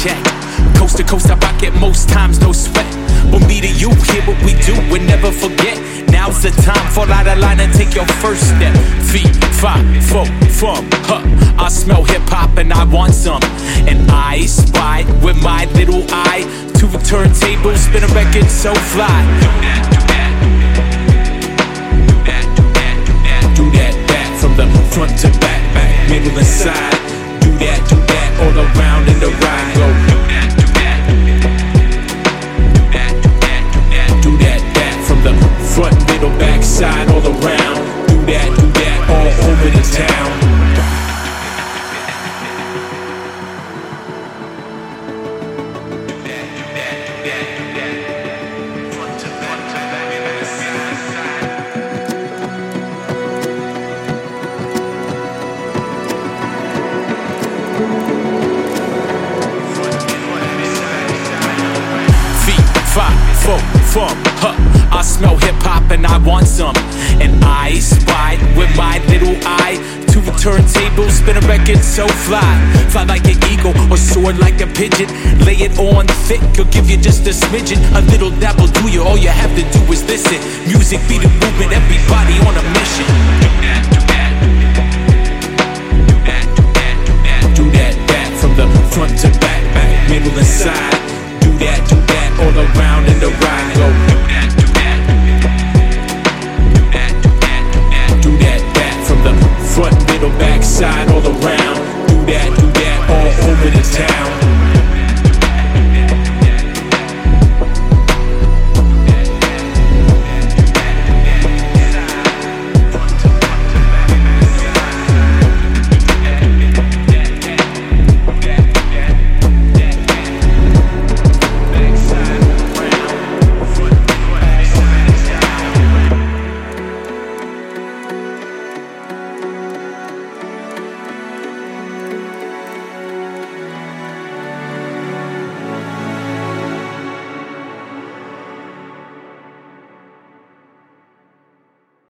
check. Coast to coast, I rock it most times, no sweat. But me to you, hear what we do and never forget. Now's the time, fall out of line and take your first step. Feet, 5, 4, fum, huh. I smell hip-hop and I want some. And I spy with my little eye 2 turntables, spin a record so fly. Do that, do that. Do that, do that, do that. Do that, from the front to back, back, middle and side. Do that, all around in the ride. Go do that, do that. Do that, do that, do that. Do that, from the front, middle, back, side, all around. Do that, all over the town. Huh. I smell hip-hop and I want some. And I spy with my little eye 2 turntables, spin a record so fly. Fly like an eagle or soar like a pigeon. Lay it on thick, or give you just a smidgen. A little dabble do you, all you have to do is listen. Music be the movement, everybody on a mission. Do that, do that. Do that, do that, do that. Do that, from the front to back, back, middle and side. Do that, all around in the ride. Go.